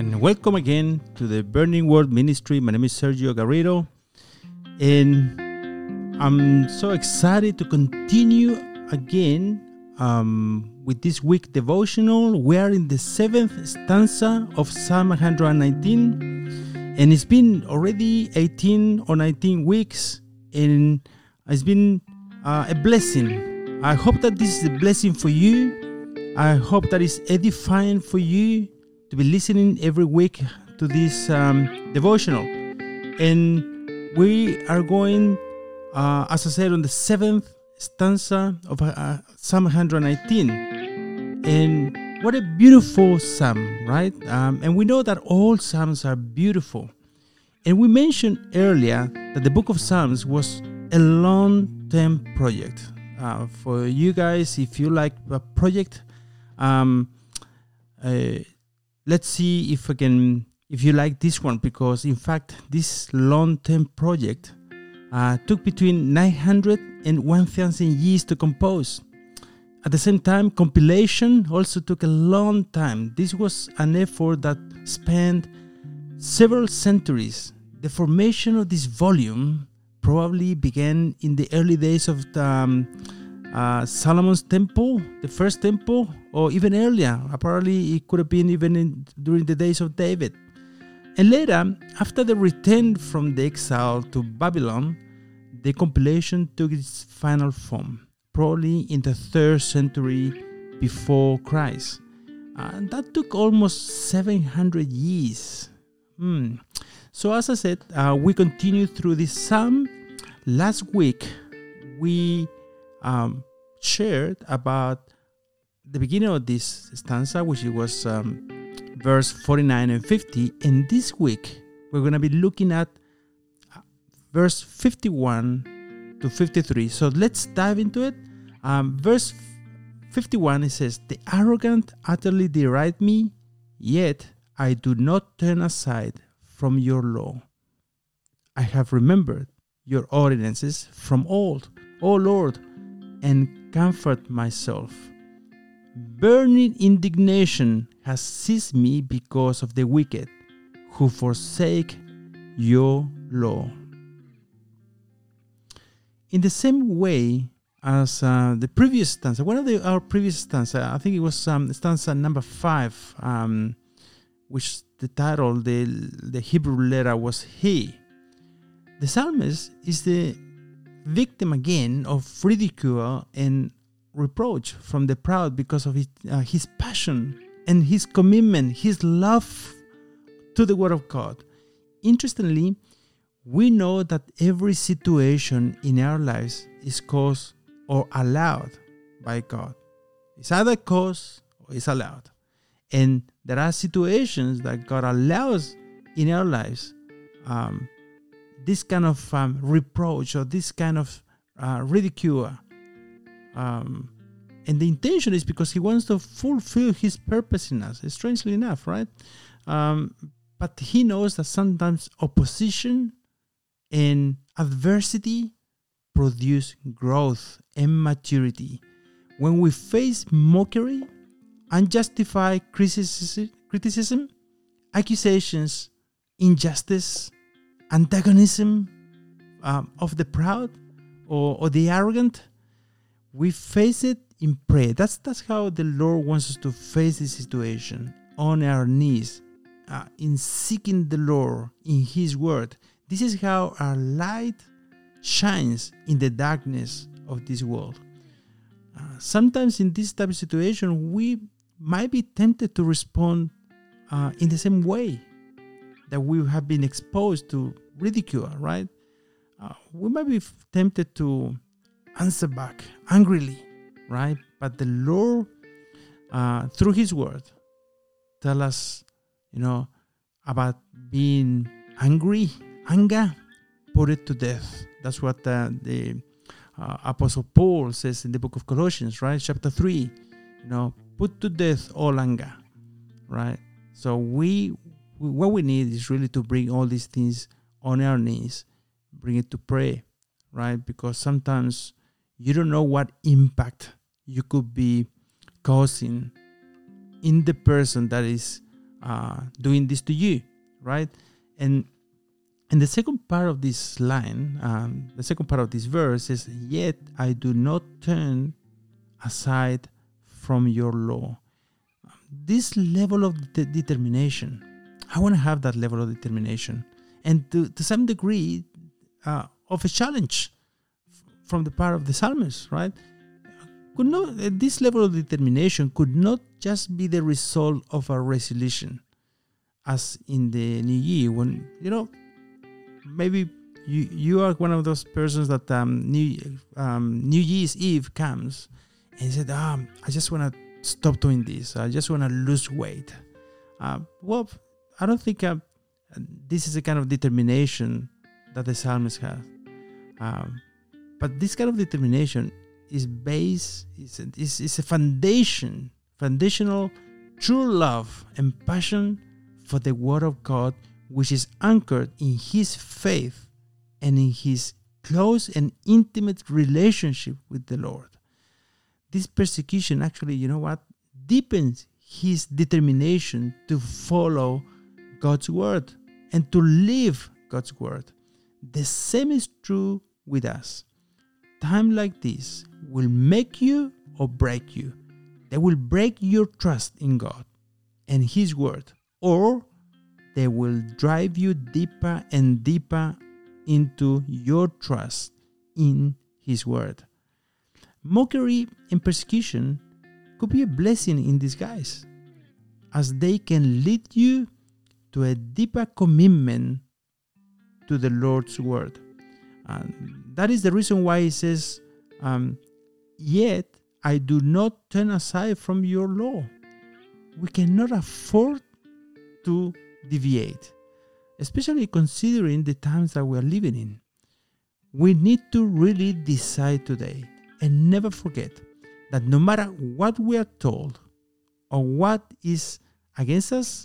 and welcome again to the Burning Word Ministry. My name is Sergio Garrido, and I'm so excited to continue again with this week devotional. We are in the 7th stanza of Psalm 119, and it's been already 18 or 19 weeks, and it's been a blessing. I hope that this is a blessing for you. I hope that it's edifying for you to be listening every week to this devotional. And we are going, as I said, on the 7th stanza of Psalm 119. And what a beautiful psalm, right? And we know that all psalms are beautiful. And we mentioned earlier that the book of Psalms was a long-term project. For you guys, if you like a project, let's see if you like this one, because in fact this long-term project took between 900 and 1,000 years to compose. At the same time, compilation also took a long time. This was an effort that spanned several centuries. The formation of this volume probably began in the early days of Solomon's temple, the first temple, or even earlier. Apparently, it could have been even during the days of David. And later, after the return from the exile to Babylon, the compilation took its final form, probably in the 3rd century before Christ. And that took almost 700 years. So as I said, we continue through this psalm. Last week, we shared about the beginning of this stanza, which was verse 49 and 50. And this week, we're going to be looking at verse 51 to 53. So let's dive into it. Verse 51, it says, "The arrogant utterly deride me, yet I do not turn aside from your law. I have remembered your ordinances from old, O Lord, and comfort myself. Burning indignation has seized me because of the wicked who forsake your law." In the same way as the previous stanza, our previous stanza, I think it was stanza number 5, which the title, the Hebrew letter was He. The psalmist is the victim again of ridicule and reproach from the proud because of his passion and his commitment, his love to the Word of God. Interestingly, we know that every situation in our lives is caused or allowed by God. It's either caused or it's allowed. And there are situations that God allows in our lives, this kind of reproach or this kind of ridicule. And the intention is because He wants to fulfill His purpose in us. Strangely enough, right? But He knows that sometimes opposition and adversity produce growth and maturity. When we face mockery, unjustified criticism, accusations, injustice, antagonism of the proud or the arrogant, we face it in prayer. That's how the Lord wants us to face this situation, on our knees, in seeking the Lord in His Word. This is how our light shines in the darkness of this world. Sometimes in this type of situation, we might be tempted to respond in the same way that we have been exposed to ridicule, right? We might be tempted to answer back angrily, right? But the Lord, through His Word, tell us, about being angry. Anger, put it to death. That's what the Apostle Paul says in the book of Colossians, right? Chapter 3, put to death all anger, right? So what we need is really to bring all these things on our knees, bring it to prayer, right? Because sometimes you don't know what impact you could be causing in the person that is doing this to you, right? And the second part of this line, the second part of this verse is, yet I do not turn aside from your law. This level of determination, I want to have that level of determination. And to some degree of a challenge from the part of the psalmist, right? This level of determination could not just be the result of a resolution, as in the new year, when, maybe you are one of those persons that New Year's Eve comes and you said, I just want to stop doing this. I just want to lose weight. Well, I don't think this is a kind of determination that the psalmist has. But this kind of determination is a foundational true love and passion for the Word of God, which is anchored in his faith and in his close and intimate relationship with the Lord. This persecution actually, deepens his determination to follow God's Word and to live God's Word. The same is true with us. Time like this will make you or break you. They will break your trust in God and his Word, or they will drive you deeper and deeper into your trust in his Word. Mockery and persecution could be a blessing in disguise, as they can lead you to a deeper commitment to the Lord's Word. And that is the reason why he says, yet I do not turn aside from your law. We cannot afford to deviate, especially considering the times that we are living in. We need to really decide today and never forget that no matter what we are told or what is against us,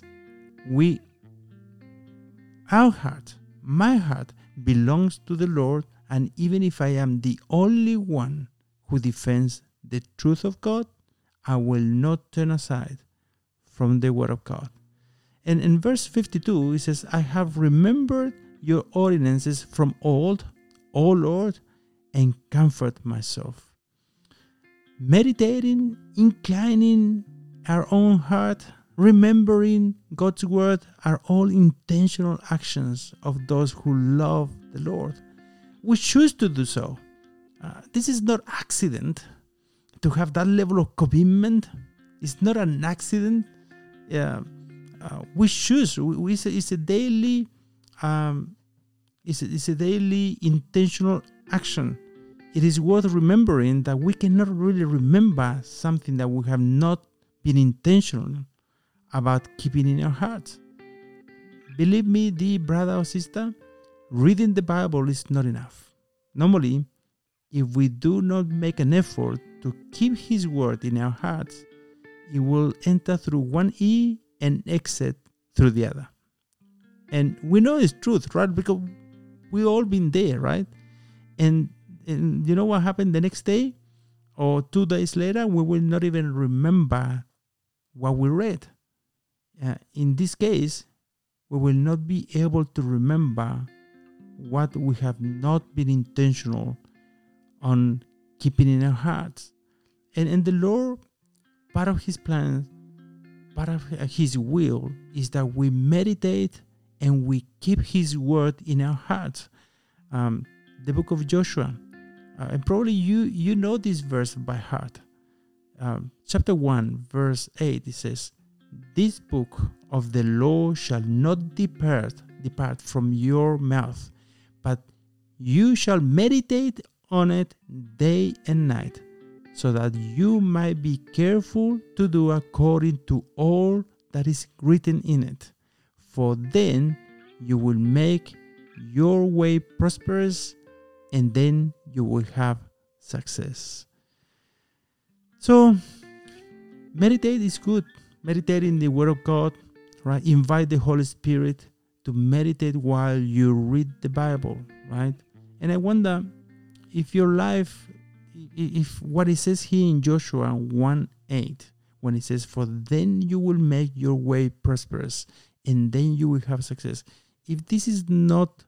our heart, my heart, belongs to the Lord, and even if I am the only one who defends the truth of God, I will not turn aside from the Word of God. And in verse 52, it says, I have remembered your ordinances from old, O Lord, and comfort myself. Meditating, inclining our own heart, remembering God's Word are all intentional actions of those who love the Lord. We choose to do so. This is not accident. To have that level of commitment is not an accident. We choose. It's a daily. It's a daily intentional action. It is worth remembering that we cannot really remember something that we have not been intentional about keeping in our hearts. Believe me, dear brother or sister, reading the Bible is not enough. Normally, if we do not make an effort to keep his word in our hearts, it will enter through one ear and exit through the other. And we know it's truth, right? Because we've all been there, right? And you know what happened the next day or 2 days later? We will not even remember what we read. In this case, we will not be able to remember what we have not been intentional on keeping in our hearts. And the Lord, part of his plan, part of his will is that we meditate and we keep his word in our hearts. The book of Joshua, and probably you know this verse by heart. Chapter 1, verse 8, it says, this book of the law shall not depart from your mouth, but you shall meditate on it day and night, so that you might be careful to do according to all that is written in it. For then you will make your way prosperous, and then you will have success. So, meditate is good. Meditate in the Word of God, right? Invite the Holy Spirit to meditate while you read the Bible, right? And I wonder if your life, if what it says here in Joshua 1:8, when it says, for then you will make your way prosperous and then you will have success. If this is not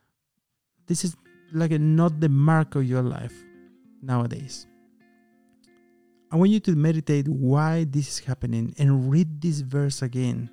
the mark of your life nowadays, I want you to meditate why this is happening and read this verse again.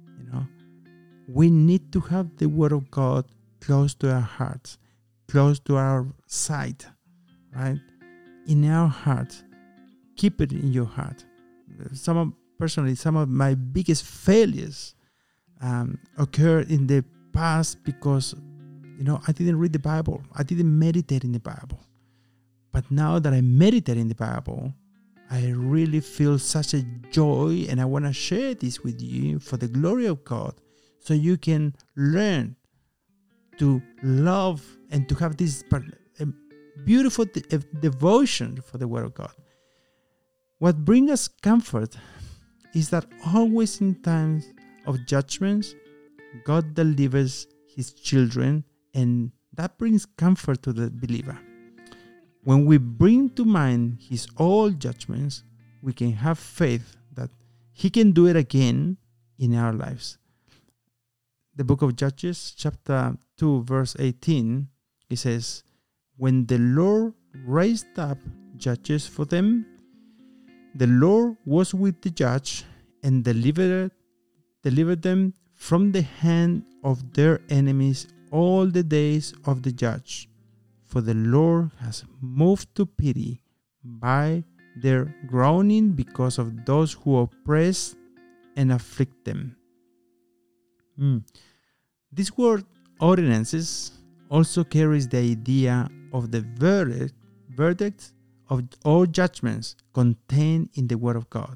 We need to have the Word of God close to our hearts, close to our sight, right? In our heart. Keep it in your heart. Some of my biggest failures occurred in the past because, I didn't read the Bible. I didn't meditate in the Bible. But now that I meditate in the Bible, I really feel such a joy, and I want to share this with you for the glory of God, so you can learn to love and to have this beautiful devotion for the Word of God. What brings us comfort is that always in times of judgments, God delivers His children, and that brings comfort to the believer. When we bring to mind His old judgments, we can have faith that He can do it again in our lives. The book of Judges, chapter 2, verse 18, it says, when the Lord raised up judges for them, the Lord was with the judge and delivered them from the hand of their enemies all the days of the judge. For the Lord has moved to pity by their groaning because of those who oppress and afflict them. This word ordinances also carries the idea of the verdict of all judgments contained in the Word of God.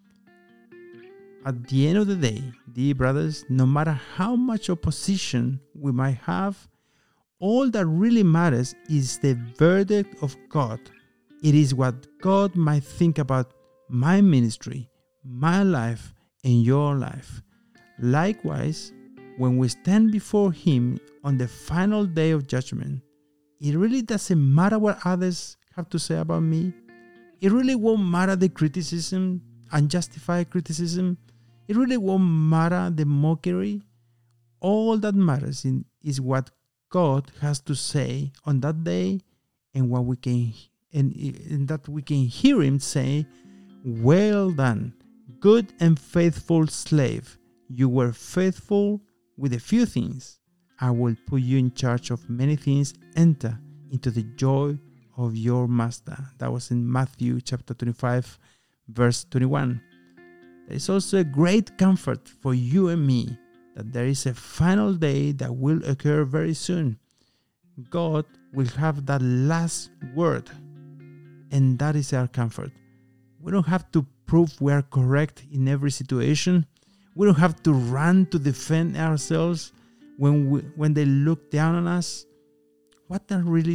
At the end of the day, dear brothers, no matter how much opposition we might have, all that really matters is the verdict of God. It is what God might think about my ministry, my life, and your life. Likewise, when we stand before Him on the final day of judgment, it really doesn't matter what others have to say about me. It really won't matter the criticism, unjustified criticism. It really won't matter the mockery. All that matters is what God has to say on that day, and what we can and that we can hear Him say, well done, good and faithful slave. You were faithful with a few things. I will put you in charge of many things. Enter into the joy of your master. That was in Matthew chapter 25, verse 21. There is also a great comfort for you and me that there is a final day that will occur very soon. God will have that last word, and that is our comfort. We don't have to prove we are correct in every situation. We don't have to run to defend ourselves when they look down on us. What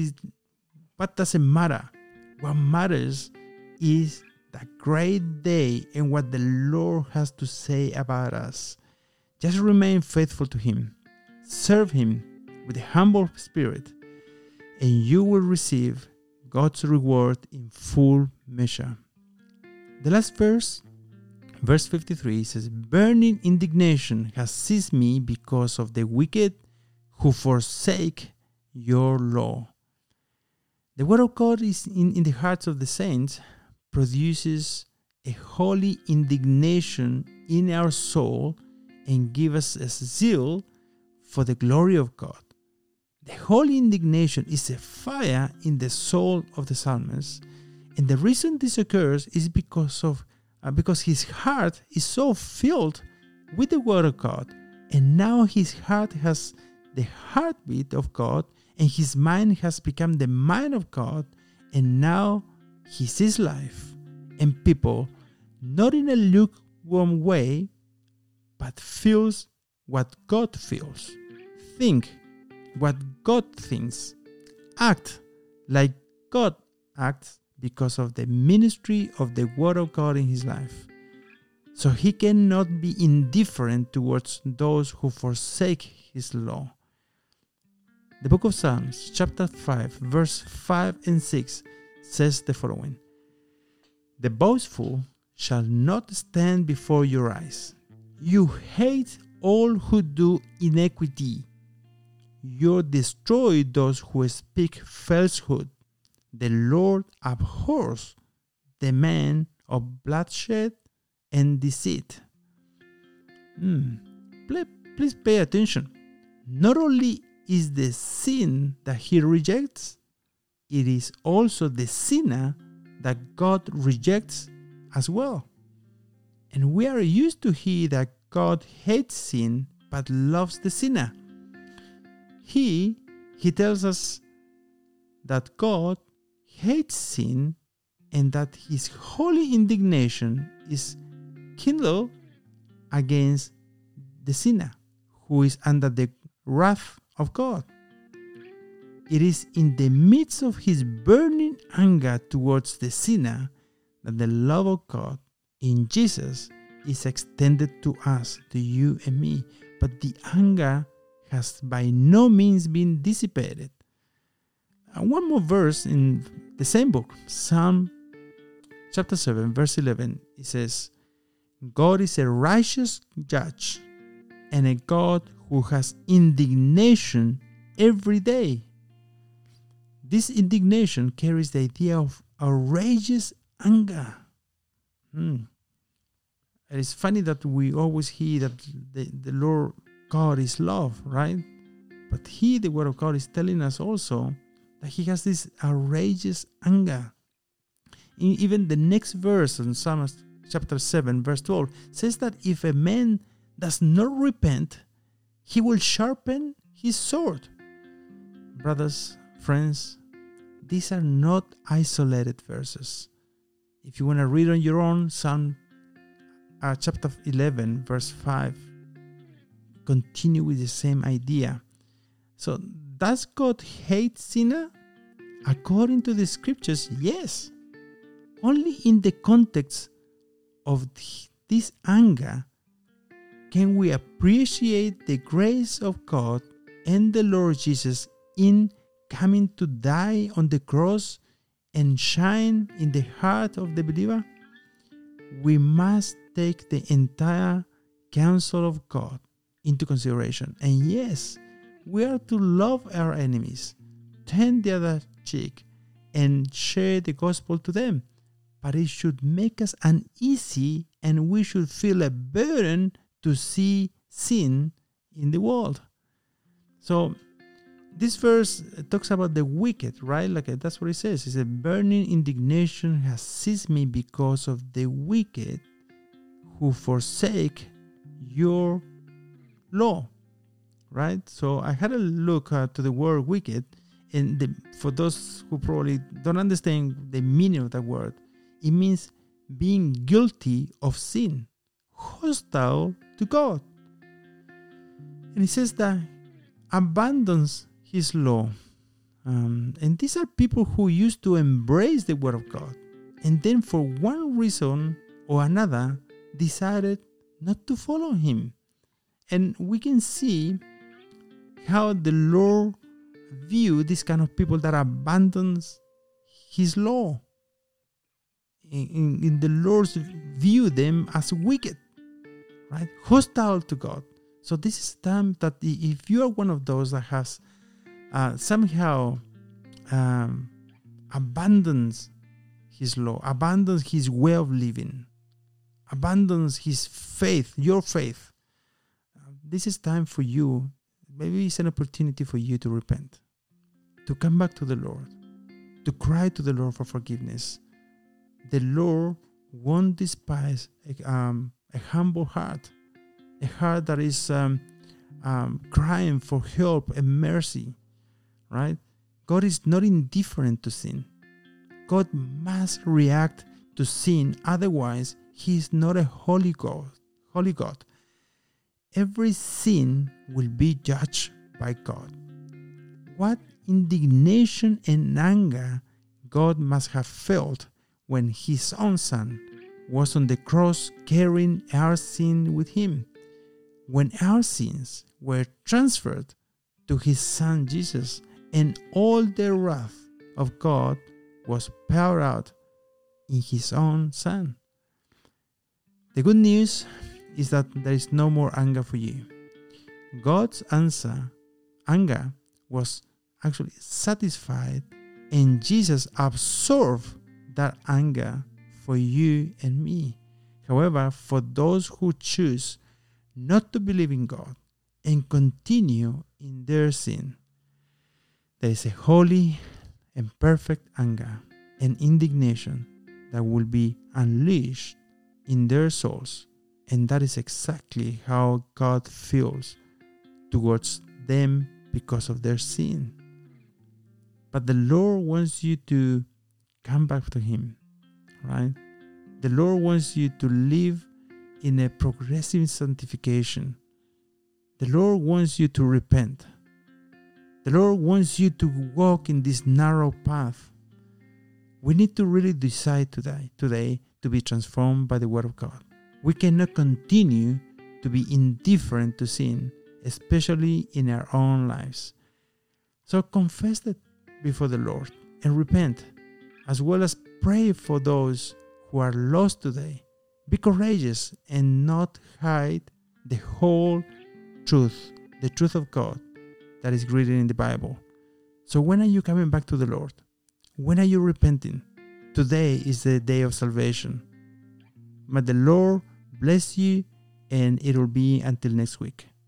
doesn't matter? What matters is that great day and what the Lord has to say about us. Just remain faithful to Him. Serve Him with a humble spirit, and you will receive God's reward in full measure. The last verse, verse 53, says, burning indignation has seized me because of the wicked who forsake your law. The word of God is in the hearts of the saints, produces a holy indignation in our soul and give us a zeal for the glory of God. The holy indignation is a fire in the soul of the psalmist, and the reason this occurs is because his heart is so filled with the word of God, and now his heart has the heartbeat of God, and his mind has become the mind of God, and now he sees life and people not in a lukewarm way, but feels what God feels, think what God thinks, act like God acts because of the ministry of the Word of God in his life. So he cannot be indifferent towards those who forsake his law. The book of Psalms, chapter 5, verse 5 and 6 says the following: the boastful shall not stand before your eyes. You hate all who do iniquity. You destroy those who speak falsehood. The Lord abhors the man of bloodshed and deceit. Please pay attention. Not only is the sin that he rejects, it is also the sinner that God rejects as well. And we are used to hear that God hates sin but loves the sinner. He tells us that God hates sin and that his holy indignation is kindled against the sinner who is under the wrath of God. It is in the midst of his burning anger towards the sinner that the love of God in Jesus is extended to us, to you and me. But the anger has by no means been dissipated. And one more verse in the same book, Psalm chapter 7, verse 11, it says, God is a righteous judge and a God who has indignation every day. This indignation carries the idea of outrageous anger. It is funny that we always hear that the Lord God is love, right? But here the Word of God is telling us also that he has this outrageous anger. Even the next verse in Psalm chapter 7, verse 12, says that if a man does not repent, he will sharpen his sword. Brothers, friends, these are not isolated verses. If you want to read on your own, Psalm chapter 11, verse 5, continue with the same idea. So, does God hate sinner? According to the scriptures, yes. Only in the context of this anger can we appreciate the grace of God and the Lord Jesus in coming to die on the cross and shine in the heart of the believer. We must take the entire counsel of God into consideration. And yes, we are to love our enemies, turn the other cheek, and share the gospel to them. But it should make us uneasy, and we should feel a burden to see sin in the world. So this verse talks about the wicked, right? Like that's what it says. It's a burning indignation has seized me because of the wicked who forsake your law, right? So I had a look to the word wicked, and for those who probably don't understand the meaning of that word, it means being guilty of sin, hostile to God. And it says that abandons his law. And these are people who used to embrace the word of God, and then for one reason or another decided not to follow him. And we can see how the Lord view this kind of people that abandons his law. In the Lord's view them as wicked, right? Hostile to God. So this is time that if you are one of those that has somehow abandons his law, abandons his way of living, abandons his faith, your faith, this is time for you. Maybe it's an opportunity for you to repent, to come back to the Lord, to cry to the Lord for forgiveness. The Lord won't despise a humble heart, a heart that is crying for help and mercy, right? God is not indifferent to sin. God must react to sin, otherwise he is not a holy God. Every sin will be judged by God. What indignation and anger God must have felt when his own son was on the cross carrying our sin with him, when our sins were transferred to his son Jesus, and all the wrath of God was poured out in his own son. The good news is that there is no more anger for you. God's anger was actually satisfied, and Jesus absorbed that anger for you and me. However, for those who choose not to believe in God and continue in their sin, there is a holy and perfect anger and indignation that will be unleashed in their souls. And that is exactly how God feels towards them because of their sin. But the Lord wants you to come back to Him, right? The Lord wants you to live in a progressive sanctification. The Lord wants you to repent. The Lord wants you to walk in this narrow path. We need to really decide today to be transformed by the Word of God. We cannot continue to be indifferent to sin, especially in our own lives. So confess it before the Lord and repent, as well as pray for those who are lost today. Be courageous and not hide the whole truth, the truth of God that is written in the Bible. So when are you coming back to the Lord? When are you repenting? Today is the day of salvation. May the Lord bless you, and it will be until next week.